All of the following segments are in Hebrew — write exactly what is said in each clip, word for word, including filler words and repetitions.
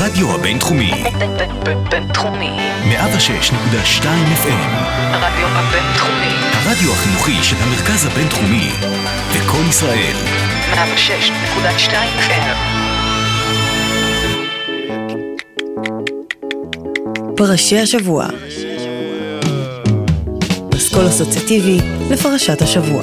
הרדיו הבינתחומי. בינתחומי. מאה ושש נקודה שתיים אף אם. הרדיו הבינתחומי. הרדיו החינוכי של המרכז הבינתחומי. וכל ישראל. מאה ושש נקודה שתיים אף אם. פרשי השבוע. פסקול אסוציאטיבי לפרשת השבוע.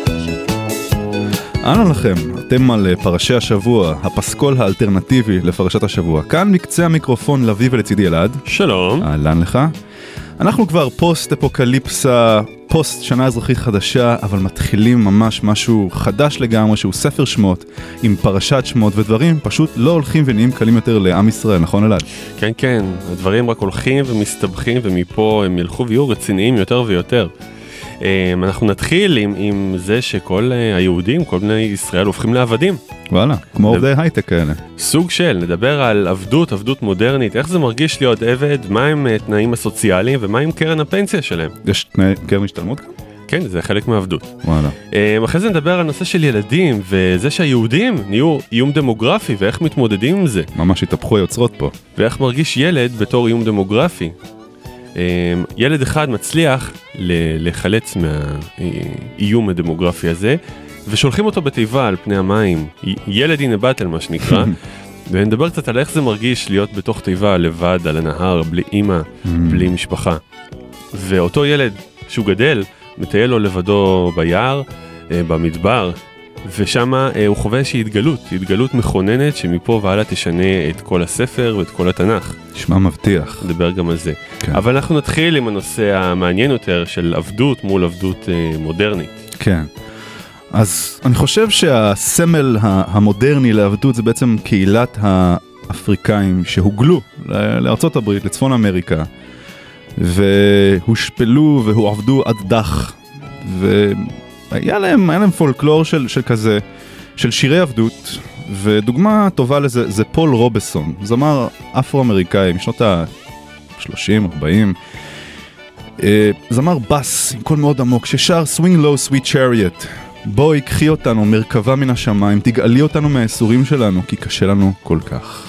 אהלן לכם, אתם על פרשי השבוע, הפסקול האלטרנטיבי לפרשת השבוע. כאן מקצה המיקרופון לוי ולצידי אלעד. שלום. אהלן לך. אנחנו כבר פוסט אפוקליפסה, פוסט שנה אזרחית חדשה, אבל מתחילים ממש משהו חדש לגמרי, שהוא ספר שמות, עם פרשת שמות, ודברים פשוט לא הולכים ונהיים קלים יותר לעם ישראל, נכון אלעד? כן, כן, הדברים רק הולכים ומסתבכים, ומפה הם ילכו ויהיו רציניים יותר ויותר. אנחנו נתחיל עם, עם זה שכל היהודים, כל בני ישראל הופכים לעבדים. וואלה, כמו עובדי הייטק כאלה. סוג של, נדבר על עבדות, עבדות מודרנית, איך זה מרגיש להיות עבד, מה הם תנאים הסוציאליים ומה עם קרן הפנסיה שלהם. יש תנאי קרן השתלמות כאן? כן, זה חלק מהעבדות. וואלה. אחרי זה נדבר על נושא של ילדים, וזה שהיהודים נהיו איום דמוגרפי, ואיך מתמודדים עם זה. ממש התהפכו היוצרות פה. ואיך מרגיש ילד בתור איום דמוגרפי. ילד אחד מצליח לחלץ מהאיום הדמוגרפי הזה, ושולחים אותו בתיבה על פני המים, ילד הנה בטל מה שנקרא, ונדבר קצת על איך זה מרגיש להיות בתוך תיבה לבד על הנהר, בלי אמא, בלי משפחה. ואותו ילד שהוא גדל, מטייל לו לבדו ביער, במדבר, ושם הוא חווה איזושהי התגלות, התגלות מכוננת שמפה והלאה תשנה את כל הספר ואת כל התנ"ך. נשמע מבטיח. נדבר גם על זה. כן. אבל אנחנו נתחיל עם הנושא המעניין יותר של עבדות מול עבדות אה, מודרנית. כן. אז אני חושב שהסמל המודרני לעבדות זה בעצם קהילת האפריקאים שהוגלו לארצות הברית, לצפון אמריקה, והושפלו והועבדו עד דח, ו... היה להם, היה להם פולקלור של, של כזה, של שירי עבדות, ודוגמה טובה לזה זה פול רובסון, זמר אפרו-אמריקאי משנות ה-שלושים ארבעים, זמר בס עם קול מאוד עמוק ששר Swing Low Sweet Chariot, בואי קחי אותנו מרכבה מן השמיים, תגאלי אותנו מהאסורים שלנו כי קשה לנו כל כך.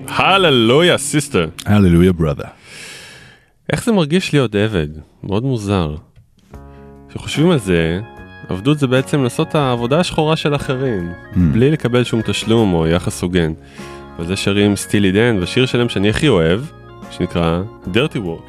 הללויה סיסטר. הללויה ברother. איך זה מרגיש להיות עבד? מאוד מוזר. כשחושבים על זה, עבדות זה בעצם לעשות את העבודה השחורה של אחרים, mm. בלי לקבל שום תשלום או יחס הוגן. וזה שרים סטילי דן, והשיר שלהם שאני הכי אוהב, שנקרא Dirty Work.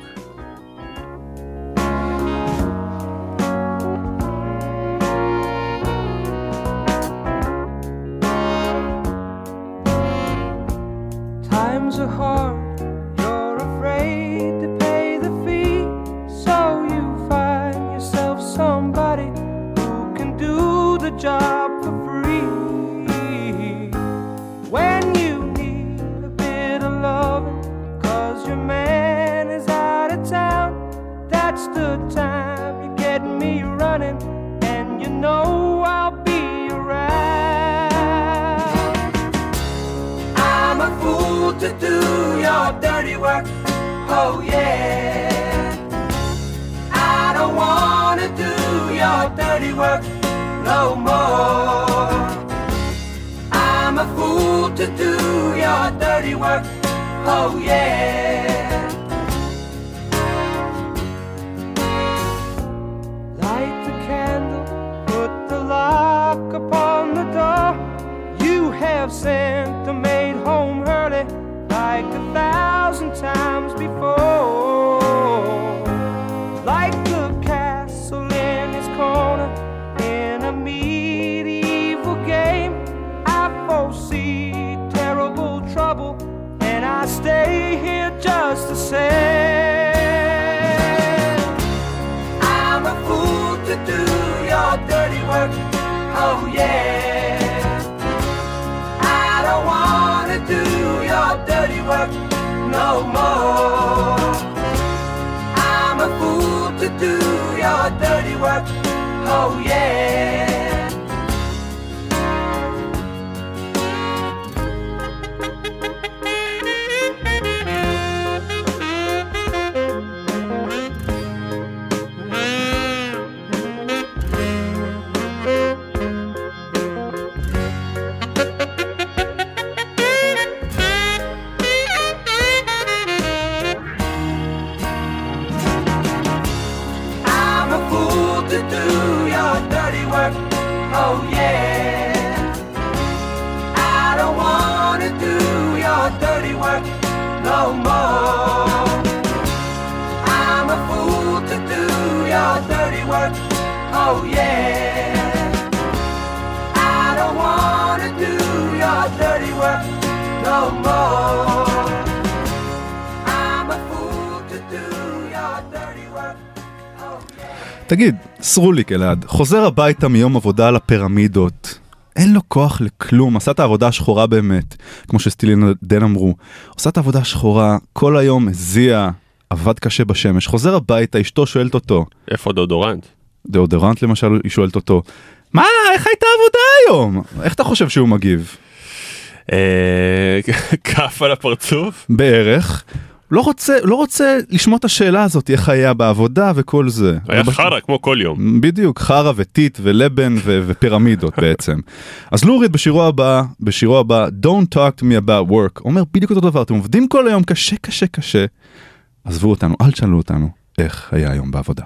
תגיד, סרוליק אלעד, חוזר הביתה מיום עבודה לפירמידות, אין לו כוח לכלום, עשה את העבודה השחורה באמת, כמו שסטילי דן אמרו, עושה את העבודה השחורה, כל היום הזיע, עבד קשה בשמש, חוזר הביתה, אשתו שואלת אותו. איפה דאודורנט? דאודורנט למשל, היא שואלת אותו, מה, איך הייתה עבודה היום? איך אתה חושב שהוא מגיב? כף על הפרצוף? בערך. לא רוצה, לא רוצה לשמוע את השאלה הזאת, איך היה בעבודה וכל זה. היה חרה כמו כל יום. בדיוק, חרה וטיט ולבן ו- ופירמידות בעצם. אז לוריד בשירו הבא, בשירו הבא, Don't talk to me about work, אומר בדיוק אותו דבר, אתם עובדים כל היום קשה קשה קשה, עזבו אותנו, אל תשאלו אותנו, איך היה היום בעבודה.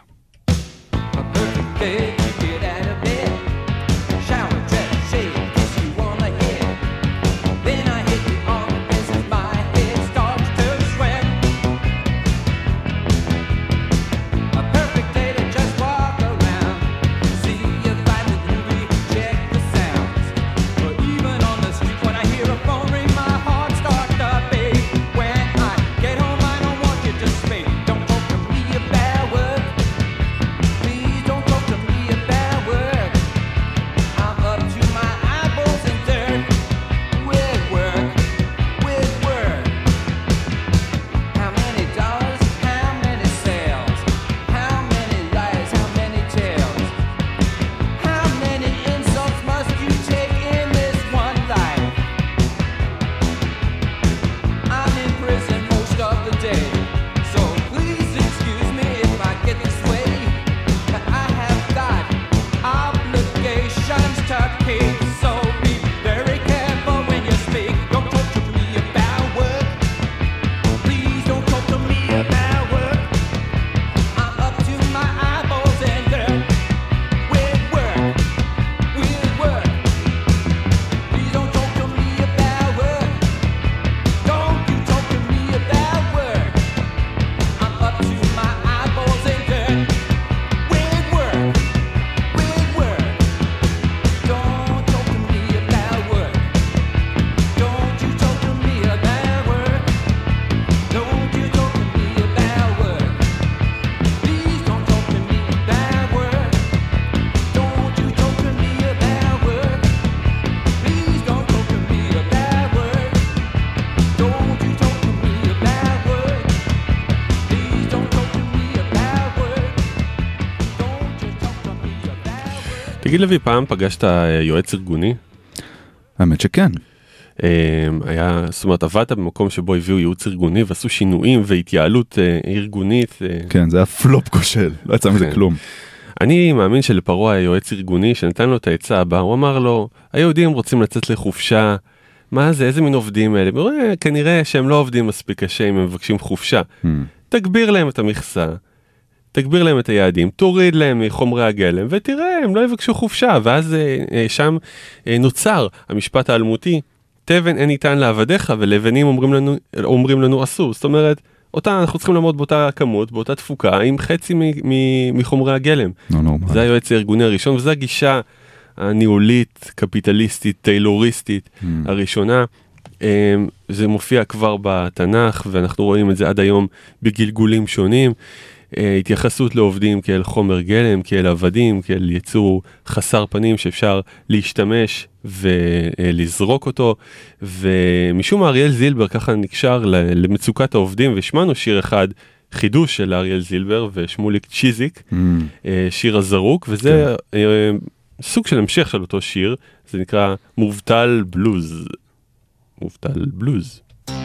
תגיד לוי, פעם פגשת יועץ ארגוני? האמת שכן. היה, זאת אומרת, עבדת במקום שבו הביאו ייעוץ ארגוני ועשו שינויים והתייעלות ארגונית. כן, זה היה פלופ כושל, לא יצא מזה כלום. אני מאמין שלפרעה היה יועץ ארגוני שנתן לו את העצה הבאה, הוא אמר לו, היהודים רוצים לצאת לחופשה, מה זה, איזה מין עובדים האלה? כנראה שהם לא עובדים מספיק קשה אם הם מבקשים חופשה. תגביר להם את המכסה, תגביר להם את היעדים, תוריד להם מחומרי הגלם, ותראה, הם לא יבקשו חופשה. ואז שם נוצר המשפט האלמותי, תבן אין ניתן לעבדיך, ולבנים אומרים לנו, אומרים לנו אסור. זאת אומרת, אותה, אנחנו צריכים לעמוד באותה כמות, באותה תפוקה, עם חצי מחומרי הגלם. זה היועץ הארגוני הראשון, וזו הגישה הניהולית, קפיטליסטית, טיילוריסטית הראשונה. זה מופיע כבר בתנ"ך, ואנחנו רואים את זה עד היום בגלגולים שונים. התייחסות לעובדים כאל חומר גלם, כאל עבדים, כאל יצור חסר פנים שאפשר להשתמש ולזרוק אותו. ומשום מה אריאל זילבר ככה נקשר למצוקת העובדים, ושמענו שיר אחד, חידוש של אריאל זילבר ושמוליק צ'יזיק, mm. שיר הזרוק, וזה כן. סוג של המשך של אותו שיר, זה נקרא מובטל בלוז. מובטל בלוז.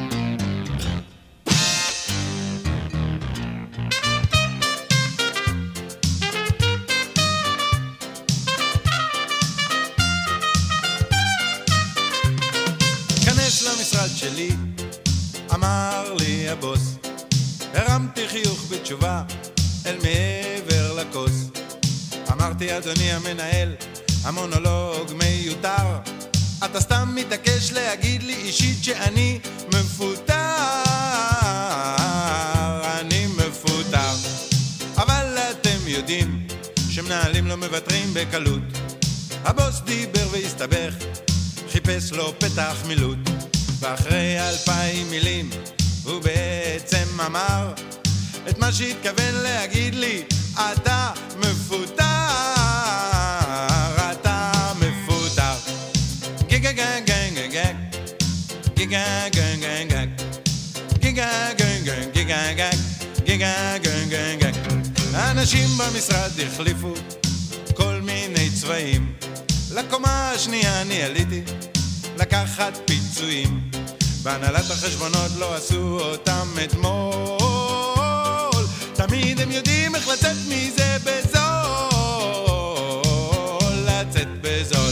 למשרד שלי, אמר לי הבוס, הרמתי חיוך בתשובה אל מעבר לכוס. אמרתי אדוני המנהל, המונולוג מיותר, אתה סתם מתעקש להגיד לי אישית שאני מפוטר. אני מפוטר, אבל אתם יודעים שמנהלים לא מבטרים בקלות. הבוס דיבר והסתבך, חיפש לו פתח מילוט, ואחרי אלפיים מילים הוא בעצם אמר את מה שהתכוון להגיד לי, אתה מפוטר, אתה מפוטר. גיגה גג גג גג גיגה גג גג גג גיגה גג גג גיגה גג גיגה גג גג גג. האנשים במשרד החליפו כל מיני צבעים, לקומה השנייה אני עליתי לקחת פיצויים, בהנהלת החשבונות לא עשו אותם אתמול, תמיד הם יודעים איך לצאת מזה בזול, לצאת בזול.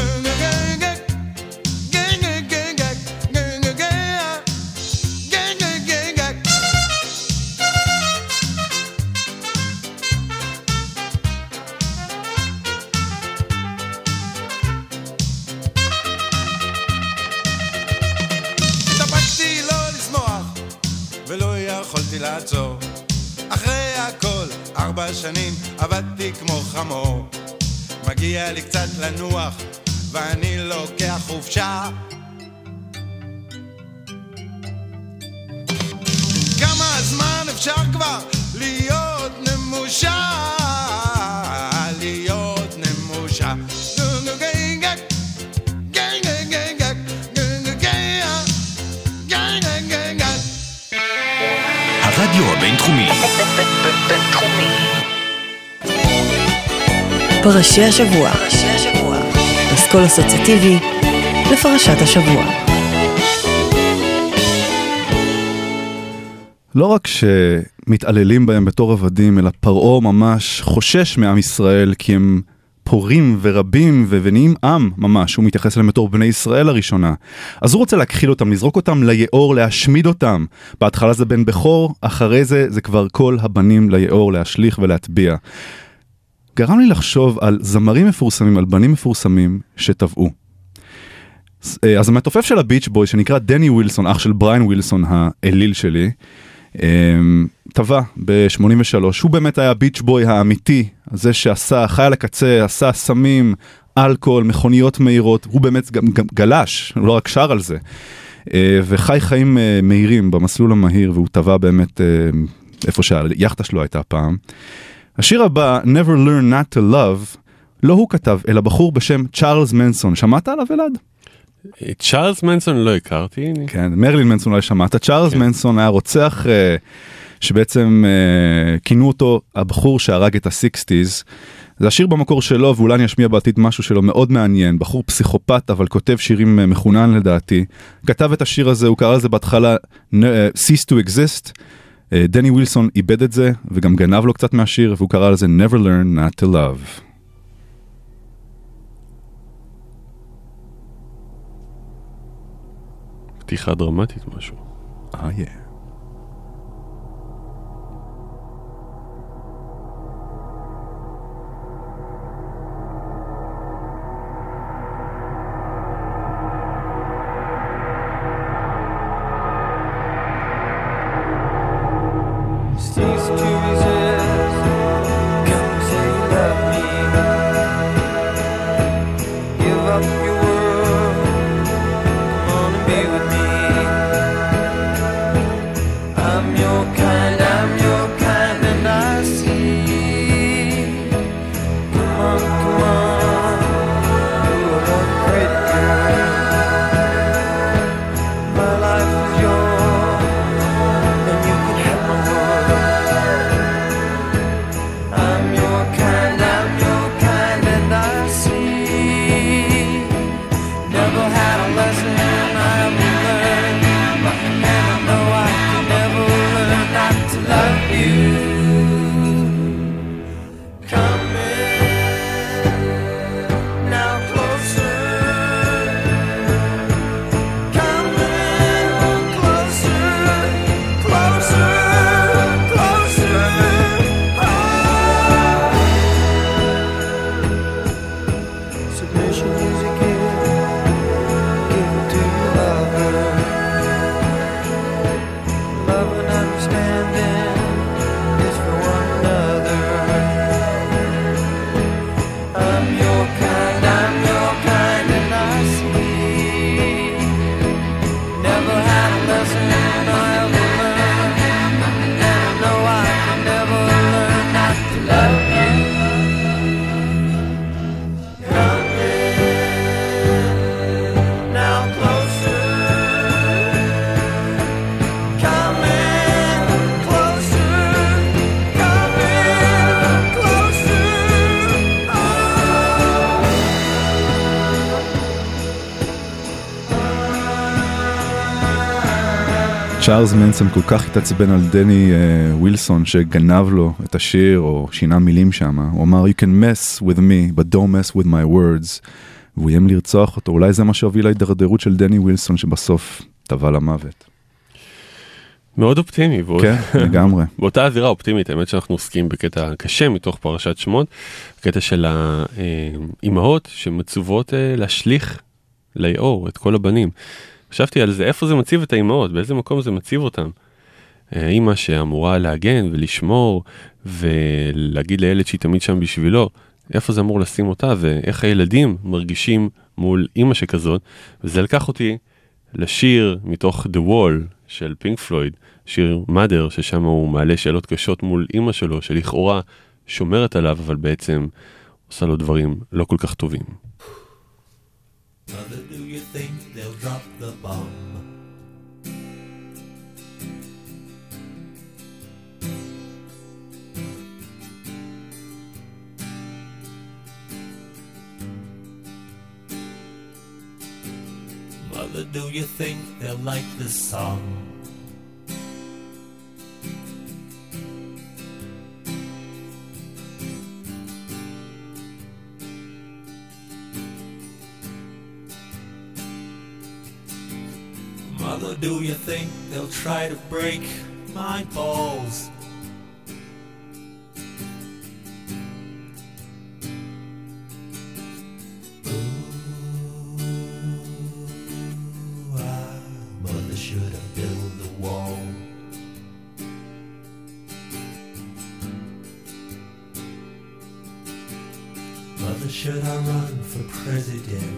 לעצור. אחרי הכל ארבע שנים עבדתי כמו חמור, מגיע לי קצת לנוח ואני לוקח חופשה. כמה זמן אפשר כבר להיות נמושה, להיות נמושה. הרדיו הבינתחומי. בינתחומי. פרשי השבוע. אסכול אסוציאטיבי לפרשת השבוע. לא רק שמתעללים בהם בתור עבדים, אלא פרעה ממש חושש מעם ישראל, כי הם פורים ורבים ונהיים עם ממש, הוא מתייחס אליהם בתור בני ישראל הראשונה. אז הוא רוצה להכחיל אותם, לזרוק אותם ליאור, להשמיד אותם. בהתחלה זה בן בכור, אחרי זה זה כבר כל הבנים ליאור, להשליך ולהטביע. גרם לי לחשוב על זמרים מפורסמים, על בנים מפורסמים שטבעו. אז המתופף של הביץ' בוי, שנקרא דני ווילסון, אח של בריין ווילסון האליל שלי, טבע ב-שמונים ושלוש, הוא באמת היה ביץ' בוי האמיתי, זה שעשה, חי על הקצה, עשה סמים, אלכוהול, מכוניות מהירות, הוא באמת גם, גם גלש, הוא לא רק שר על זה, וחי חיים מהירים במסלול המהיר, והוא טבע באמת איפה שהיחטה שלו הייתה פעם. השיר הבא, Never Learn Not to Love, לא הוא כתב, אלא בחור בשם צ'ארלס מנסון. שמעת עליו אלעד? צ'ארלס מנסון לא הכרתי. כן, מרלין מנסון לא שמעת. צ'ארלס כן. מנסון היה רוצח uh, שבעצם uh, כינו אותו הבחור שהרג את ה-שישים, זה השיר במקור שלו, ואולי אני אשמיע בעתיד משהו שלו מאוד מעניין, בחור פסיכופת, אבל כותב שירים מחונן לדעתי. כתב את השיר הזה, הוא קרא לזה בהתחלה Cease to Exist. דני ווילסון איבד את זה, וגם גנב לו קצת מהשיר, והוא קרא לזה Never Learn Not to Love. פתיחה דרמטית משהו. אה, יא. Cease to resist. Come say you love me. Give up your world. Come on and be with me. I'm your kind, I'm your kind, and I see. Come on, come on. You're a pretty girl. My life is yours, and you can have my world. I'm your kind, I'm your kind, and I see. Never had a lesson I ever learned, and I know I can never learn not to love you. Come in, now closer. Come in, closer, closer, closer. Submission is a gift, give it to your lover. Love and understanding is for one another. I'm your kind, I'm your kind, and I see. Never had a lesson I ever learned, and I know I can never learn not to love you. Come in, now closer. Come in, closer. Come in, closer. צ'ארלס מנסון כל כך התעצבן על דני uh, ווילסון שגנב לו את השיר או שינה מילים שם. הוא אמר, you can mess with me, but don't mess with my words. והוא איים לרצוח אותו. אולי זה מה שהוביל להידרדרות של דני ווילסון שבסוף טבע למוות. מאוד אופטימי. ועוד... כן, לגמרי. באותה הזירה אופטימית, האמת שאנחנו עוסקים בקטע קשה מתוך פרשת שמות, קטע של האימהות שמצוות להשליך ליאור את כל הבנים. חשבתי על זה, איפה זה מציב את האימהות, באיזה מקום זה מציב אותם. האימא שאמורה להגן ולשמור ולהגיד לילד שהיא תמיד שם בשבילו, איפה זה אמור לשים אותה ואיך הילדים מרגישים מול אימא שכזאת. וזה לקח אותי לשיר מתוך The Wall של פינק פלויד, שיר Mother, ששם הוא מעלה שאלות קשות מול אימא שלו, שלכאורה שומרת עליו, אבל בעצם עושה לו דברים לא כל כך טובים. Mother, do you think they'll drop the bomb? Mother, do you think they'll like this song? Mother, do you think they'll try to break my balls? Ooh, ah, Mother should have built the wall. Mother, should I run for president?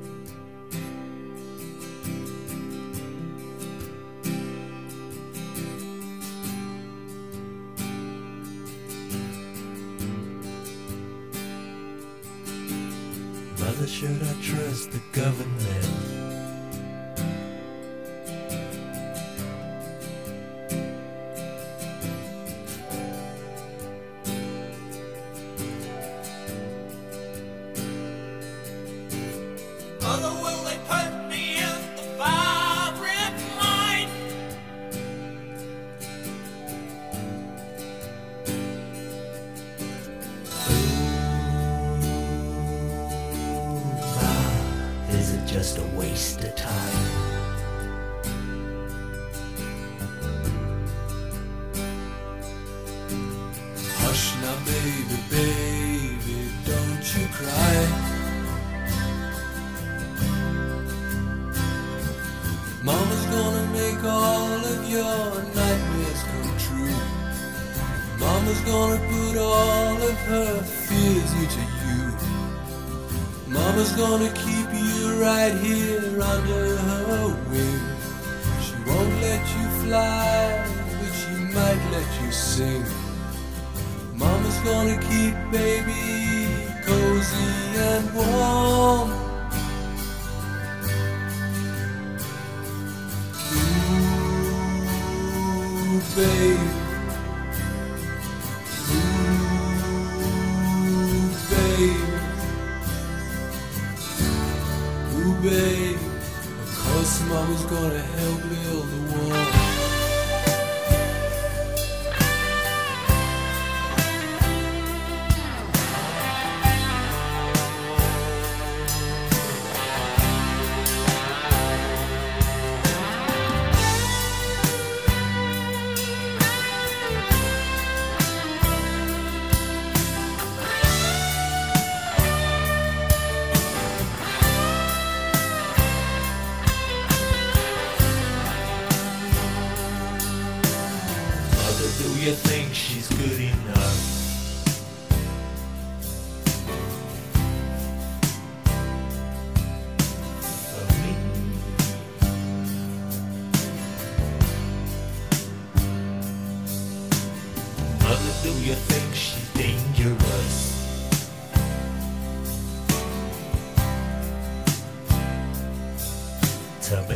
Mother, should I trust the government? Mama's gonna put all of her fears into you. Mama's gonna keep you right here under her wing. She won't let you fly, but she might let you sing. Mama's gonna keep baby cozy and warm. Ooh, babe. Ooh, babe. Ooh, babe. Of course Mama's gonna help build the wall. You think she's good enough? For me? Mother, do you think she's dangerous? To me?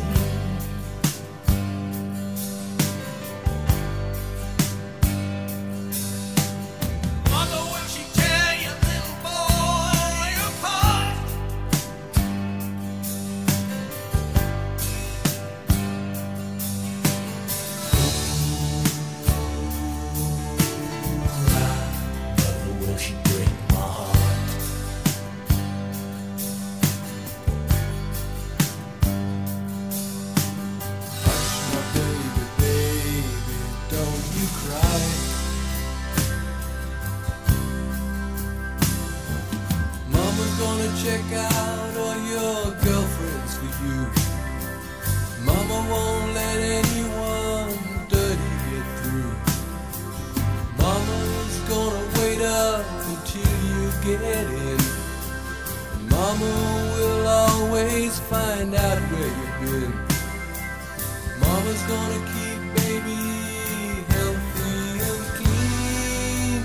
Check out all your girlfriends for you. Mama won't let anyone dirty get through. Mama's gonna wait up until you get in. Mama will always find out where you've been. Mama's gonna keep baby healthy and clean.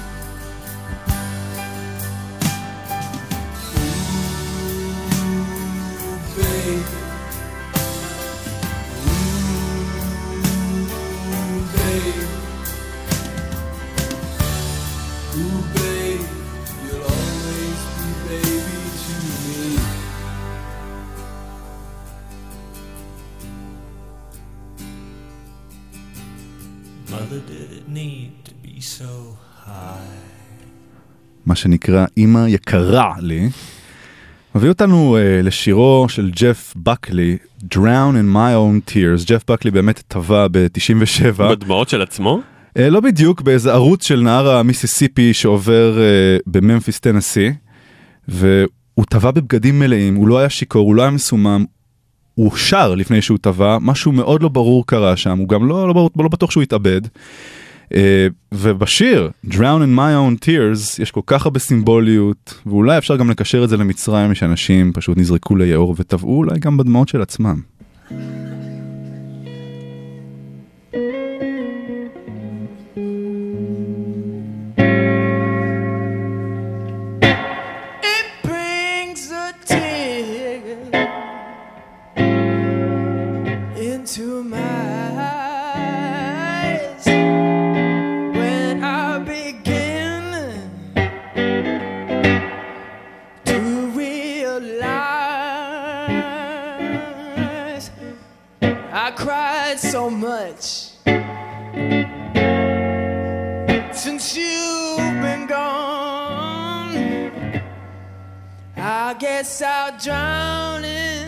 Babe. Ooh, babe. Ooh, babe. You'll always be baby to me. Mother, did it need to be so high? מה שנקרא אמא יקרה לי. מביא אותנו uh, לשירו של ג'ף בקלי, Drown in my own tears. ג'ף בקלי באמת טבע ב-תשעים ושבע. בדמעות של עצמו? Uh, לא בדיוק, באיזה ערוץ של נהר המיסיסיפי שעובר uh, בממפיס טנסי, והוא טבע בבגדים מלאים, הוא לא היה שיקור, הוא לא היה מסומם, הוא שר לפני שהוא טבע, משהו מאוד לא ברור קרה שם, הוא גם לא, לא, לא בטוח שהוא התאבד. Uh, ובשיר Drown in my own tears יש כל כך הרבה סימבוליות, ואולי אפשר גם לקשר את זה למצרים, שאנשים פשוט נזרקו ליאור וטבעו אולי גם בדמעות של עצמם. It brings a tear into my cried so much since you've been gone. I guess I'll drown in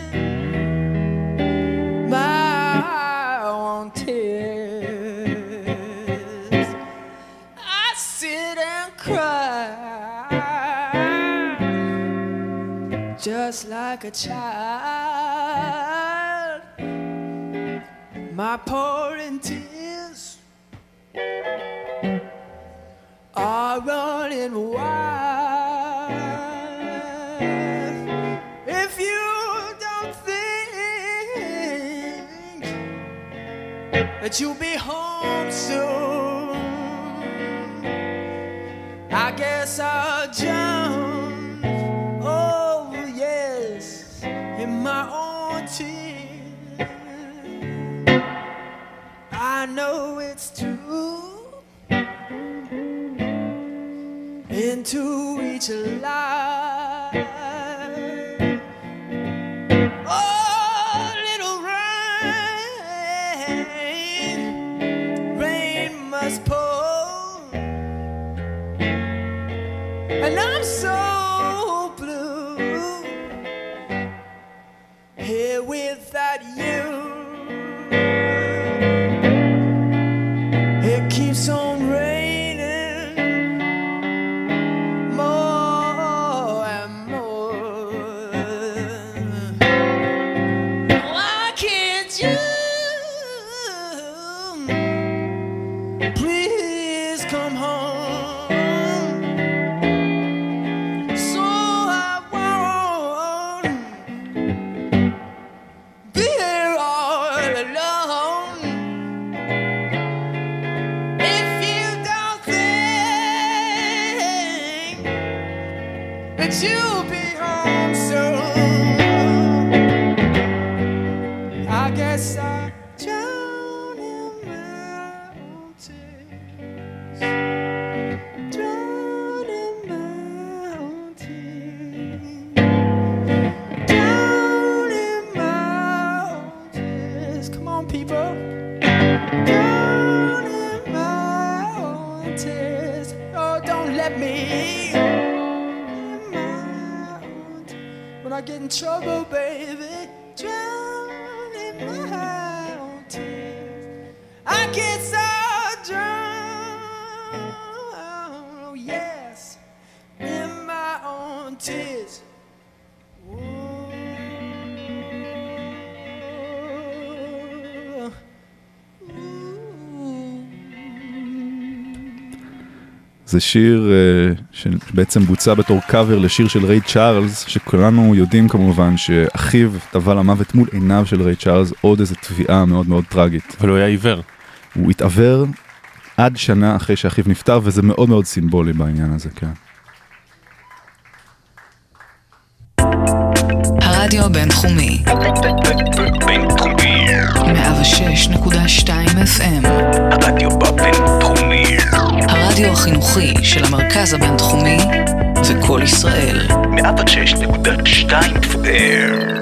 my own tears. I sit and cry just like a child. My pouring tears are running wild. If you don't think that you'll be home soon, I guess I'll jump, oh yes, in my own tears. I know it's true, into each life. Oh, little rain, rain must pour, and I'm so blue here without you. It keeps on raining more and more. Why can't you please come home? So I won't be here all alone. If you don't think that you'll be home soon, I guess I'll drown in my own tears, drown in my own tears, drown in my own tears. Come on, people. Drown in my own tears. Oh, don't let me in my own tears. When I get in trouble, baby, drown in my own tears. I get so drown, oh yes, in my own tears. זה שיר uh, שבעצם בוצע בתור קאבר לשיר של ריי צ'ארלס, שכולנו יודעים כמובן שאחיו טבע למוות מול עיניו של ריי צ'ארלס, עוד איזו תביעה מאוד מאוד טרגית. אבל הוא היה עיוור. הוא התעוור עד שנה אחרי שאחיו נפטר, וזה מאוד מאוד סימבולי בעניין הזה, כן. הרדיו הבינתחומי בינתחומי מאה ושש נקודה שתיים אף אם, הרדיו בבינתחומי, הרדיו החינוכי של המרכז הבינתחומי זה כל ישראל. מאה ושש נקודה שתיים אף אם.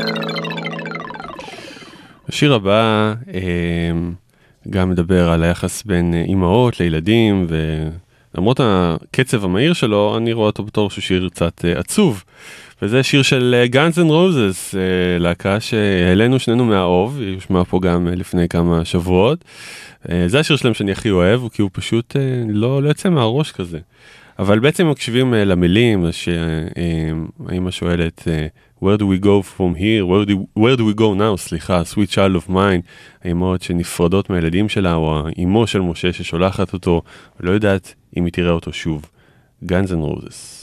השיר הבא גם מדבר על היחס בין אימהות לילדים, ולמרות הקצב המהיר שלו, אני רואה אותו בתור שהוא שיר קצת עצוב. וזה שיר של Guns N' Roses, להקה שהעלינו שנינו מהאוב, היא יושמע פה גם לפני כמה שבועות. זה השיר שלהם שאני הכי אוהב, כי הוא פשוט לא, לא יוצא מהראש כזה. אבל בעצם מקשיבים למילים, שהאמא שואלת, where do we go from here, where do, where do we go now, סליחה, sweet child of mine, האמהות שנפרדות מהילדים שלה, או האמו של משה ששולחת אותו, ולא יודעת אם היא תראה אותו שוב. Guns N' Roses.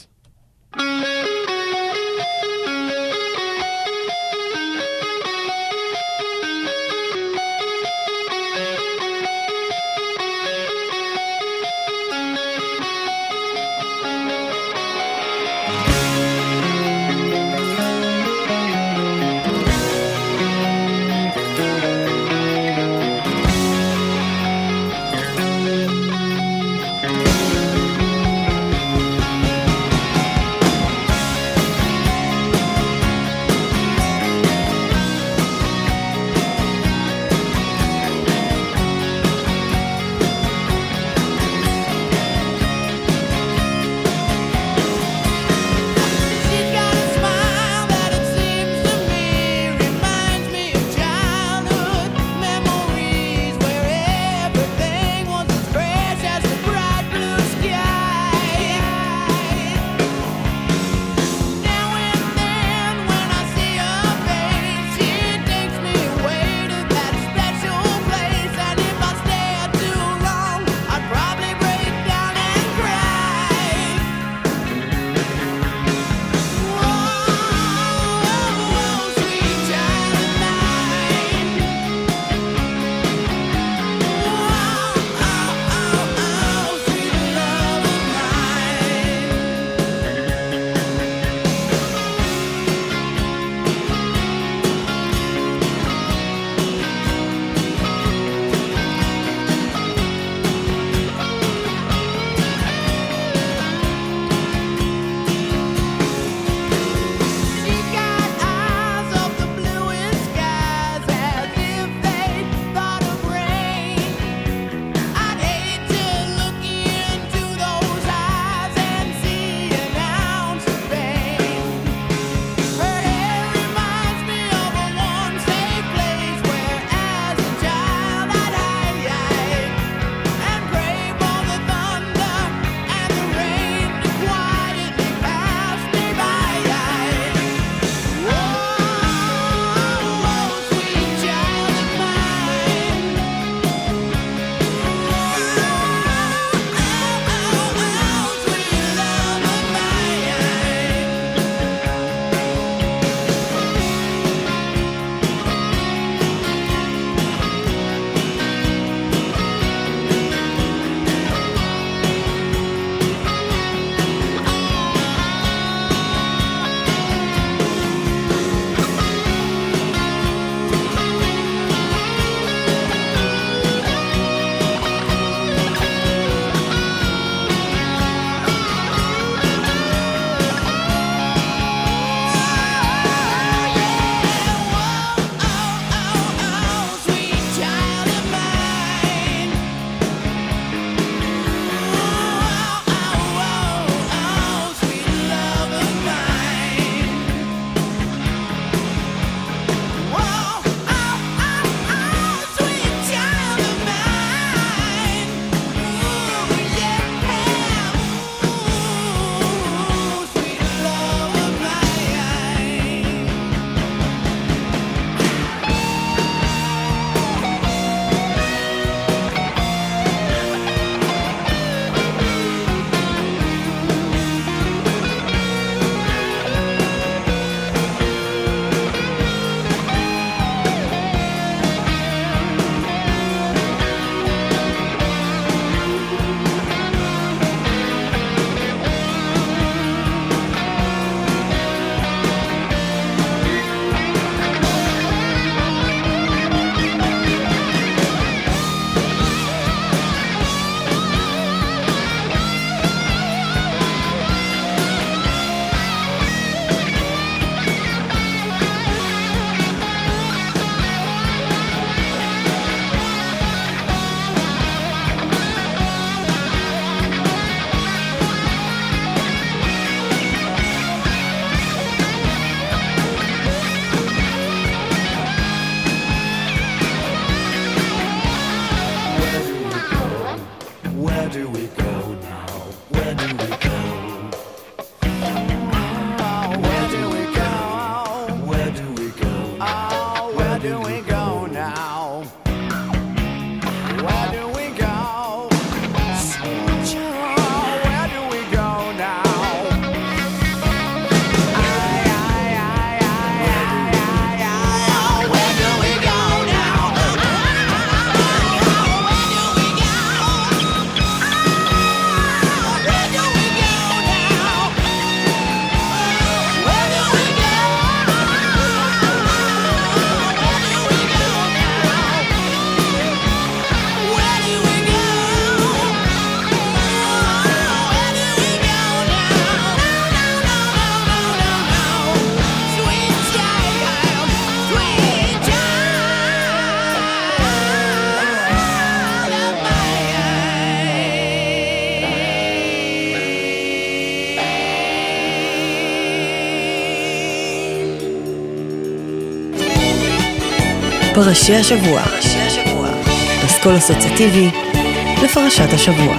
פרשי השבוע. פסקול אסוציאטיבי לפרשת השבוע.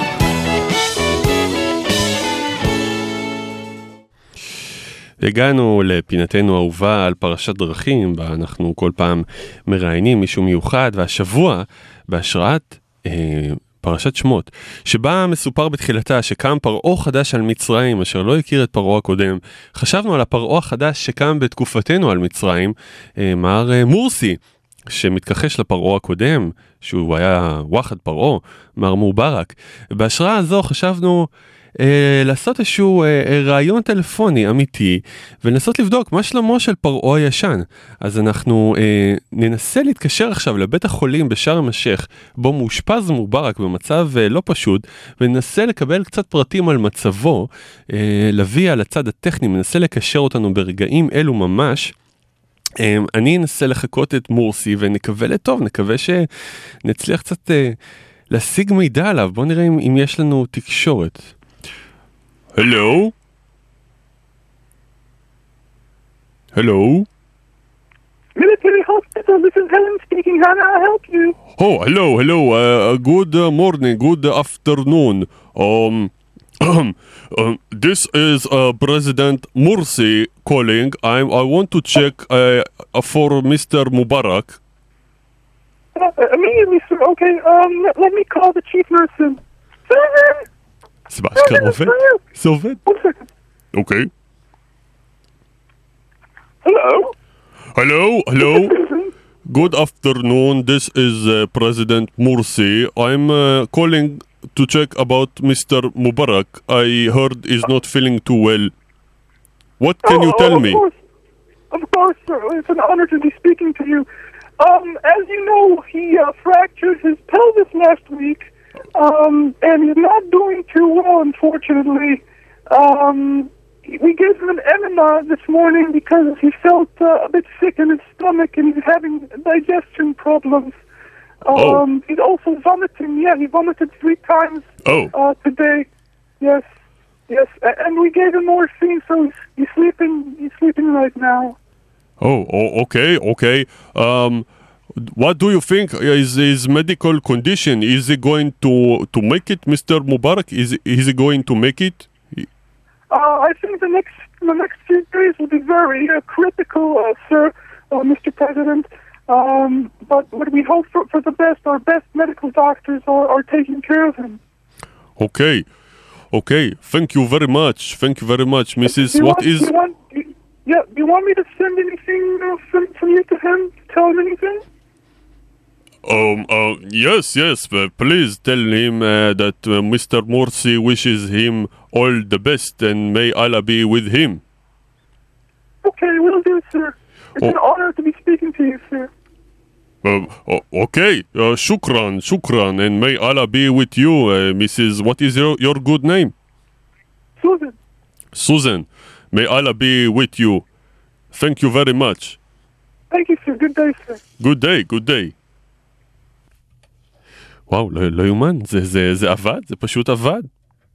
הגענו לפינתנו האהובה על פרשת דרכים, בה אנחנו כל פעם מראיינים מישהו מיוחד, והשבוע בהשראת אה, פרשת שמות, שבה מסופר בתחילתה שקם פרעה חדש על מצרים, אשר לא הכיר את פרעה הקודם. חשבנו על הפרעה החדש שקם בתקופתנו על מצרים, אה, מר אה, מורסי, שמתכחש לפרעה הקודם, שהוא היה וואחד פרעה, מר מובארק. בהשראה הזו חשבנו אה, לעשות איזשהו אה, אה, רעיון טלפוני אמיתי, ולנסות לבדוק מה שלמה של פרעה הישן. אז אנחנו אה, ננסה להתקשר עכשיו לבית החולים בשארם א-שייח, בו מאושפז מובארק במצב אה, לא פשוט, וננסה לקבל קצת פרטים על מצבו, אה, להביא על הצד הטכני, מנסה לקשר אותנו ברגעים אלו ממש. Um, אני אנסה לחכות את מורסי ונקווה לטוב, נקווה שנצליח קצת uh, להשיג מידע עליו. בואו נראה אם, אם יש לנו תקשורת. הלו? הלו? Military Hospital, this is Helen speaking. How may I help you? Oh, hello, hello. Uh, good uh, morning, good afternoon. Um... Um, this is uh, President Morsi calling. I I want to check uh, for Mister Mubarak. Uh, immediately, sir. Okay. Um, let me call the chief nurse in. Susan. זה באשכרה עובד? זה עובד? One second. Okay. Hello. Hello, hello. Good afternoon. This is uh, President Morsi. I'm uh, calling to check about Mister Mubarak. I heard he's not feeling too well. What can oh, you tell oh, of me? Course. Of course, sir. It's an honor to be speaking to you. Um, as you know, he uh, fractured his pelvis last week, um, and he's not doing too well, unfortunately. Um, we gave him an enema this morning because he felt uh, a bit sick in his stomach and he's having digestion problems. Um, oh. He's also vomiting. Yeah, he vomited three times Oh. uh, today. Yes, yes. A- and we gave him morphine, so he's, he's sleeping. He's sleeping right now. Oh, oh, okay, okay. Um, what do you think is his medical condition? Is he going to to make it, Mister Mubarak? Is is he going to make it? Uh, I think the next the next few days will be very uh, critical, uh, sir, uh, Mister President. Um, but what we hope for, for the best, our best medical doctors are, are taking care of him. Okay, okay. Thank you very much. Thank you very much, Missus Do you What want, is? Do you want, do you- yeah, do you want me to send anything uh, from, from you to him? Tell him anything? Um. Uh. Yes. Yes. Uh, please tell him uh, that uh, Mister Morsi wishes him all the best, and may Allah be with him. Okay, we'll do, sir. It's Oh. an honor to be speaking to you, sir. Uh, o- okay. Uh, shukran, shukran, and may Allah be with you, uh, Missus What is your your good name? Susan. Susan. May Allah be with you. Thank you very much. Thank you, sir. Good day, sir. Good day, good day. וואו, לא, לא יומן, זה, זה, זה עבד, זה פשוט עבד.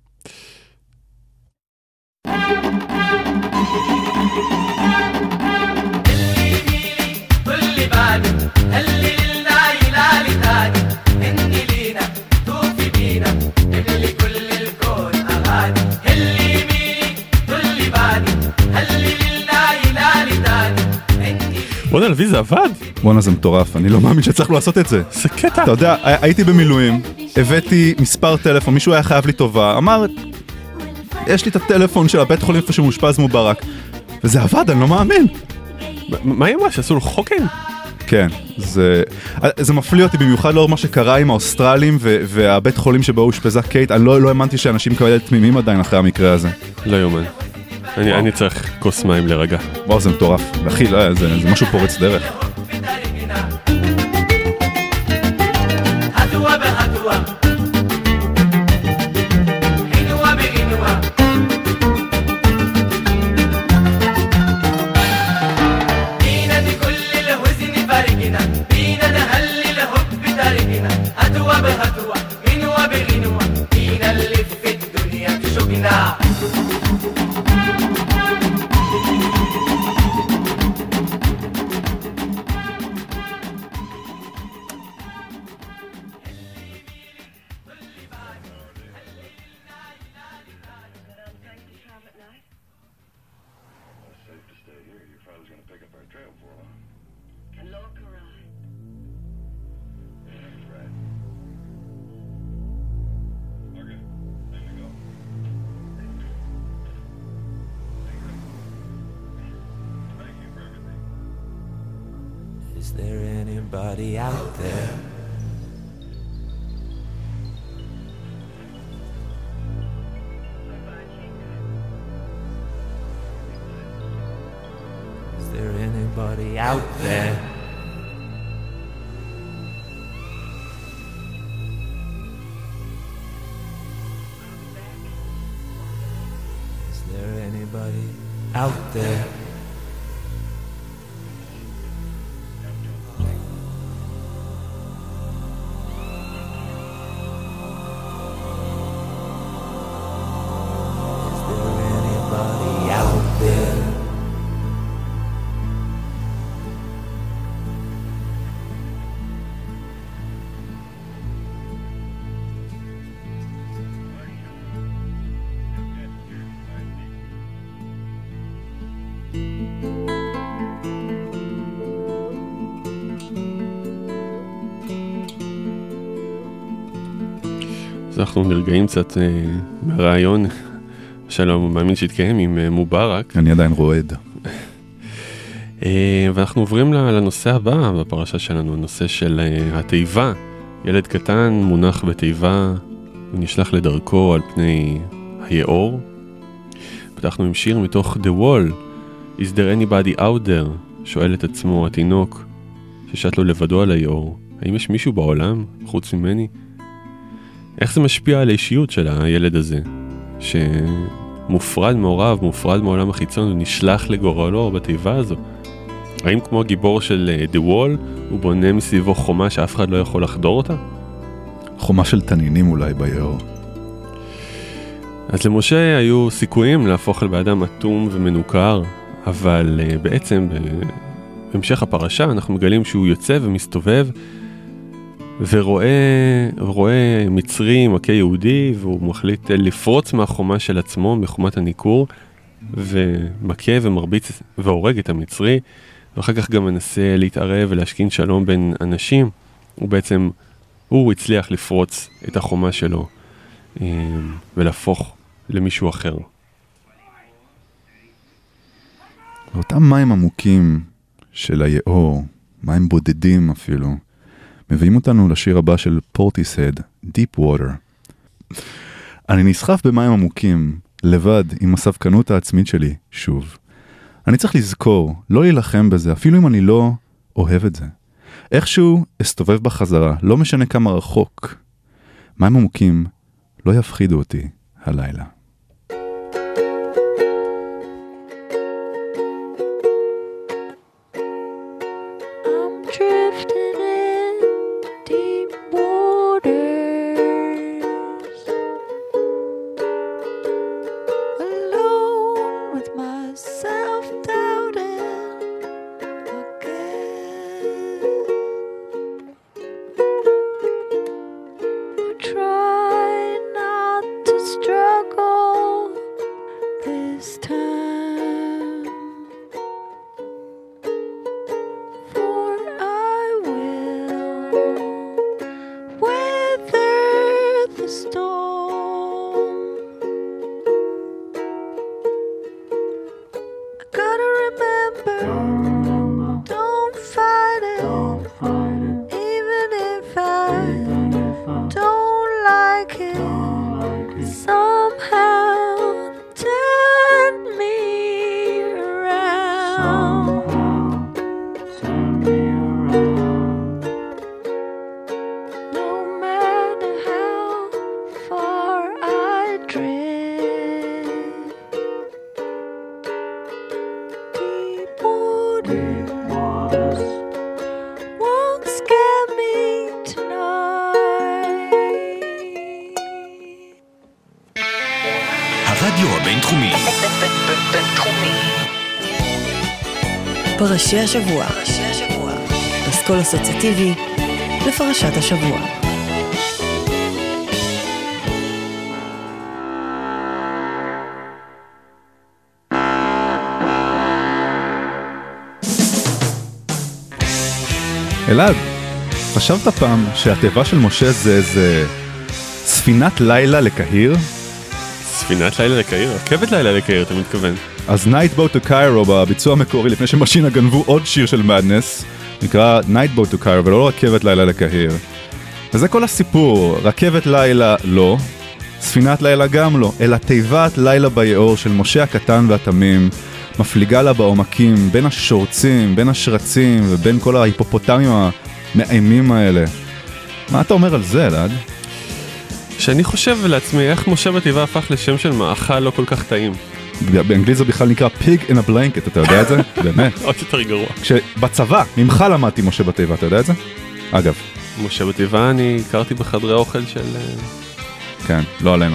בוא'נה, לוי, זה עבד. בואנה, זה מטורף, אני לא מאמין שצריך לעשות את זה. זה קטע. אתה יודע, הייתי במילואים, הבאתי מספר טלפון, מישהו היה חייב לי טובה, אמר, יש לי את הטלפון של הבית חולים איפה שמושפז מובארק, וזה עבד, אני לא מאמין. מה היא אמרה, שעשו לו חוקן? כן, זה, זה מפליא אותי במיוחד לאור מה שקרה עם האוסטרלים ו- והבית חולים שבו הושפזה קייט. אני לא, לא האמנתי שאנשים כאלה תמימים עדיין אחרי המקרה הזה. לא יומן. אני, אני צריך כוס מים לרגע. וואו, זה מטורף. אחי, לא, זה, זה משהו פורץ דרך. Is there anybody out there? Is there anybody out there? Is there anybody out there? אז אנחנו נרגעים קצת אה, מהרעיון שלום, מאמין שהתקיים עם אה, מובארק. אני עדיין רועד. אה, ואנחנו עוברים לנושא הבא בפרשה שלנו, הנושא של אה, התיבה. ילד קטן מונח בתיבה ונשלח לדרכו על פני היאור. פתחנו עם שיר מתוך The Wall, Is there anybody out there? שואל את עצמו התינוק ששט לו לבדו על היאור. האם יש מישהו בעולם חוץ ממני? איך זה משפיע על האישיות של הילד הזה, שמופרד מעורב, מופרד מעולם החיצון, ונשלח לגורלו בתיבה הזו? האם כמו הגיבור של The Wall, הוא בונה מסביבו חומה שאף אחד לא יכול לחדור אותה? חומה של תנינים אולי ביאור. אז למשה היו סיכויים להפוך על באדם אטום ומנוכר, אבל uh, בעצם בהמשך הפרשה אנחנו מגלים שהוא יוצא ומסתובב, ורואה רואה מצרי מכה יהודי, והוא מחליט לפרוץ מהחומה של עצמו, מחומת הניכור, ומכה ומרביץ והורג את המצרי, ואחר כך גם מנסה להתערב ולהשכין שלום בין אנשים. הוא בעצם, הוא הצליח לפרוץ את החומה שלו ולהפוך למישהו אחר. אותם מים עמוקים של היאור, מים בודדים אפילו, מביאים אותנו לשיר הבא של פורטיסהד, Deep Water. אני נסחף במים עמוקים, לבד, עם הספקנות העצמית שלי, שוב. אני צריך לזכור, לא להילחם בזה, אפילו אם אני לא אוהב את זה. איכשהו אסתובב בחזרה, לא משנה כמה רחוק. מים עמוקים לא יפחידו אותי הלילה. פרשי השבוע, פסקול אסוציאטיבי לפרשת השבוע. אלעד, חשבת פעם שהטבע של משה זה זה ספינת לילה לקהיר? ספינת לילה לקהיר? רכבת לילה לקהיר, אתה מתכוון? אז Night Boat to Cairo בביצוע המקורי, לפני שמשינה גנבו עוד שיר של מדנס, נקרא Night Boat to Cairo, ולא רכבת לילה לקהיר. וזה כל הסיפור, רכבת לילה לא, ספינת לילה גם לא, אלא תיבת לילה ביעור של משה הקטן והתמים, מפליגה לה בעומקים, בין השורצים, בין השרצים, ובין כל ההיפופוטמים המאיימים האלה. מה אתה אומר על זה, אלעד? שאני חושב לעצמי, איך משה בתיבה הפך לשם של מאכל לא כל כך טעים. באנגלית זה בכלל נקרא pig in a blanket, אתה יודע את זה? באמת. עוד יותר גרוע. כשבצבא, ממך למדתי משה בתיבה, אתה יודע את זה? אגב. משה בתיבה אני הכרתי בחדרי אוכל של... כן, לא עלינו.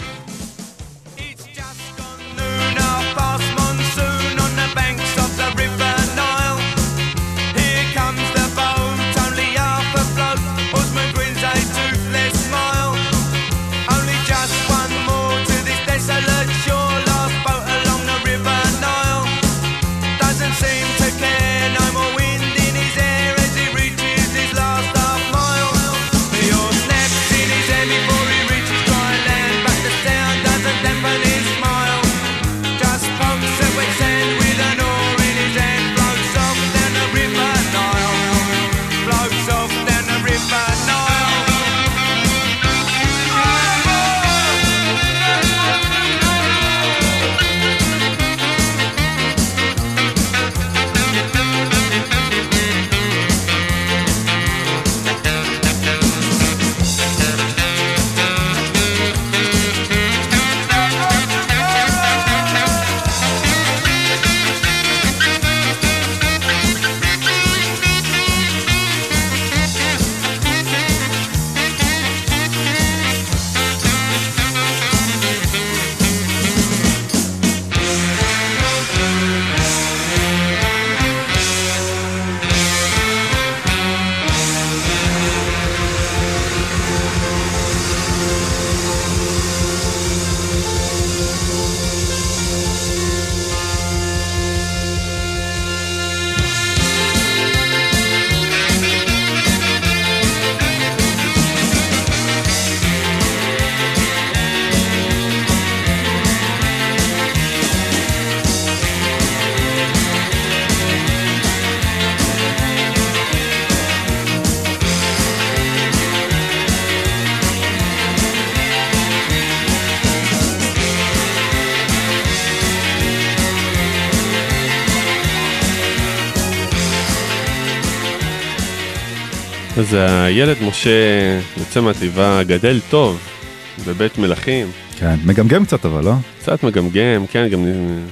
אז הילד משה יוצא מהתיבה, גדל טוב, בבית מלכים. כן, מגמגם קצת אבל, לא? קצת מגמגם, כן, גם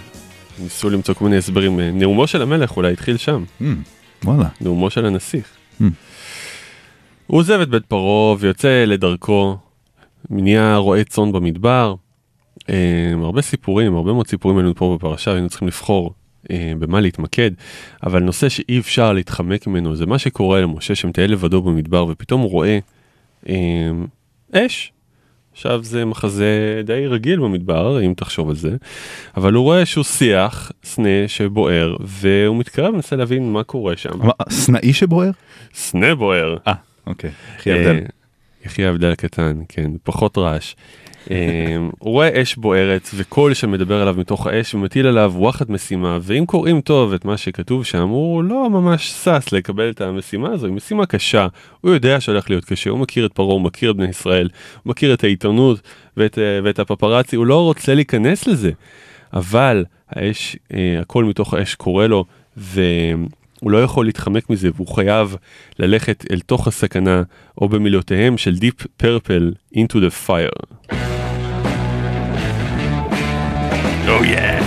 ניסו למצוא כל מיני הסברים. נאומו של המלך אולי התחיל שם. Mm, וואלה. נאומו של הנסיך. Mm. הוא עוזב את בית פרעה ויוצא לדרכו, נהיה רועה צאן במדבר. אה, הרבה סיפורים, הרבה מאוד סיפורים עלינו פה בפרשה, היינו צריכים לבחור אה, במה להתמקד, אבל נושא שאי אפשר להתחמק ממנו, זה מה שקורה למשה שמטייל לבדו במדבר, ופתאום הוא רואה אה, אש. עכשיו זה מחזה די רגיל במדבר, אם תחשוב על זה, אבל הוא רואה שהוא שיח, סנה שבוער, והוא מתקרב, מנסה להבין מה קורה שם. סנאי שבוער? סנה בוער. אה, אוקיי. יחי הבדל. יחי הבדל הקטן, כן, פחות רעש. הוא רואה אש בוערת, וקול שמדבר עליו מתוך האש, ומטיל עליו וואחד משימה, ואם קוראים טוב את מה שכתוב שם, הוא לא ממש סס לקבל את המשימה הזו, היא משימה קשה, הוא יודע שהולך להיות קשה, הוא מכיר את פרעה, הוא מכיר את בני ישראל, הוא מכיר את העיתונות ואת, ואת הפפרצי, הוא לא רוצה להיכנס לזה, אבל האש, הקול מתוך האש קורא לו, והוא לא יכול להתחמק מזה, והוא חייב ללכת אל תוך הסכנה, או במילותיהם של Deep Purple, Into the Fire. Oh yeah!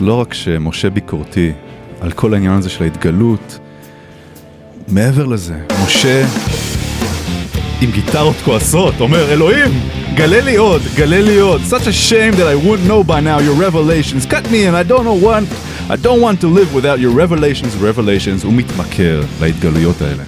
לא רק שמשה ביקורתי על כל העניין הזה של ההתגלות, מעבר לזה, משה עם גיטרות כועסות, אומר, אלוהים, גלה לי עוד, גלה לי עוד. Such a shame that I wouldn't know by now your revelations. Cut me and I don't know what, I don't want to live without your revelations, revelations. הוא מתמכר להתגלויות האלה.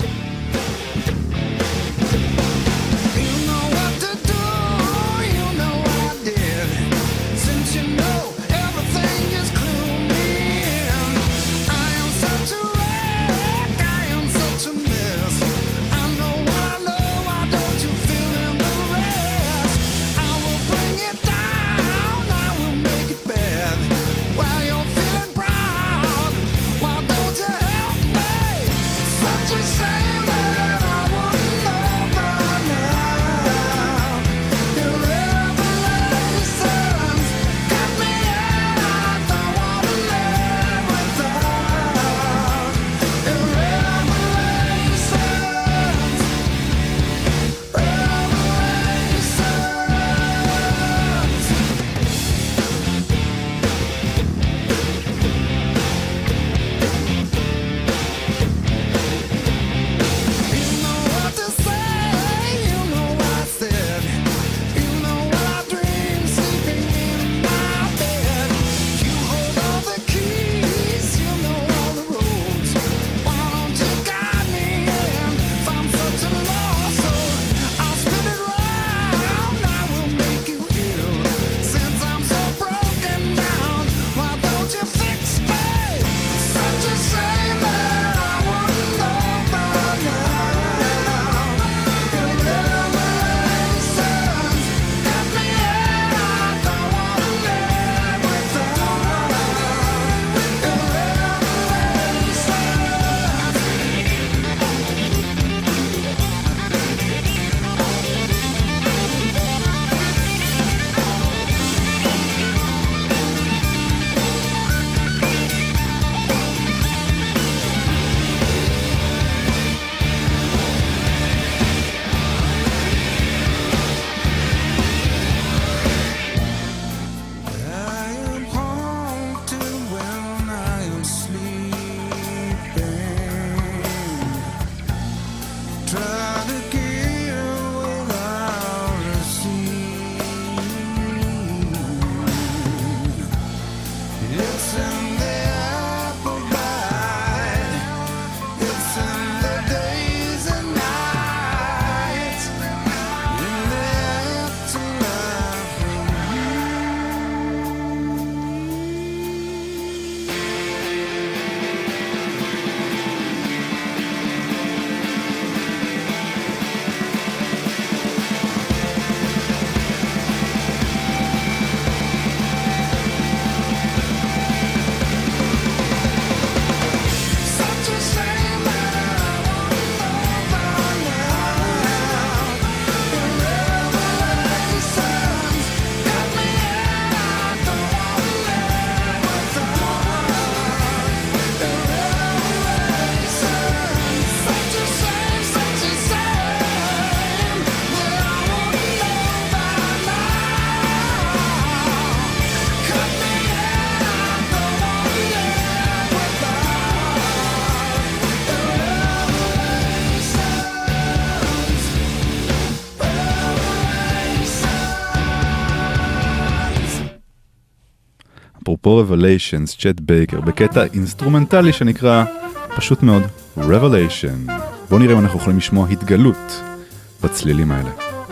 אפרופו Revelations, צ'ט בייקר, בקטע אינסטרומנטלי שנקרא פשוט מאוד Revelation. בואו נראה אם אנחנו יכולים לשמוע התגלות בצלילים האלה.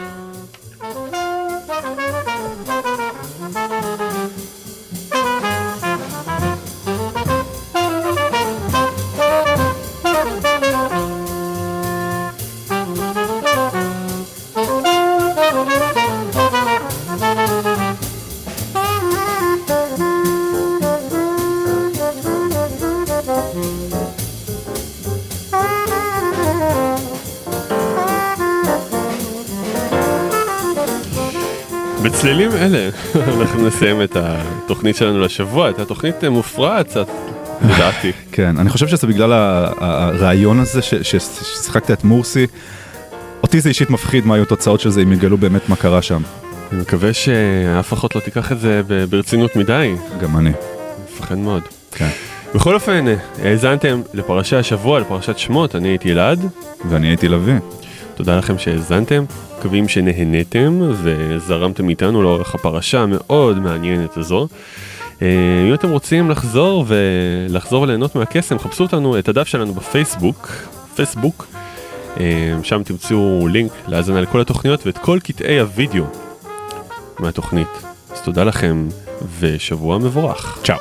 בצלילים אלה אנחנו נסיים את התוכנית שלנו לשבוע, את התוכנית מופרעת קצת, לדעתי. כן, אני חושב שזה בגלל הרעיון הזה ששיחקת את מורסי, אותי זה אישית מפחיד מה היו תוצאות של זה אם יגלו באמת מה קרה שם. אני מקווה שאף אחד לא תיקח את זה ברצינות מדי. גם אני. מפחד מאוד. כן. בכל אופן, האזנתם לפרשת השבוע, לפרשת שמות, אני הייתי אלעד. ואני הייתי לוי. תודה לכם שהאזנתם, מקווים שנהנתם וזרמתם איתנו לאורך הפרשה המאוד מעניינת הזו. אם אתם רוצים לחזור ולחזור וליהנות מהקסם, חפשו אותנו, את הדף שלנו בפייסבוק, פייסבוק, שם תמצאו לינק להאזנה לכל התוכניות ואת כל קטעי הוידאו מהתוכנית. אז תודה לכם ושבוע מבורך. צ'או.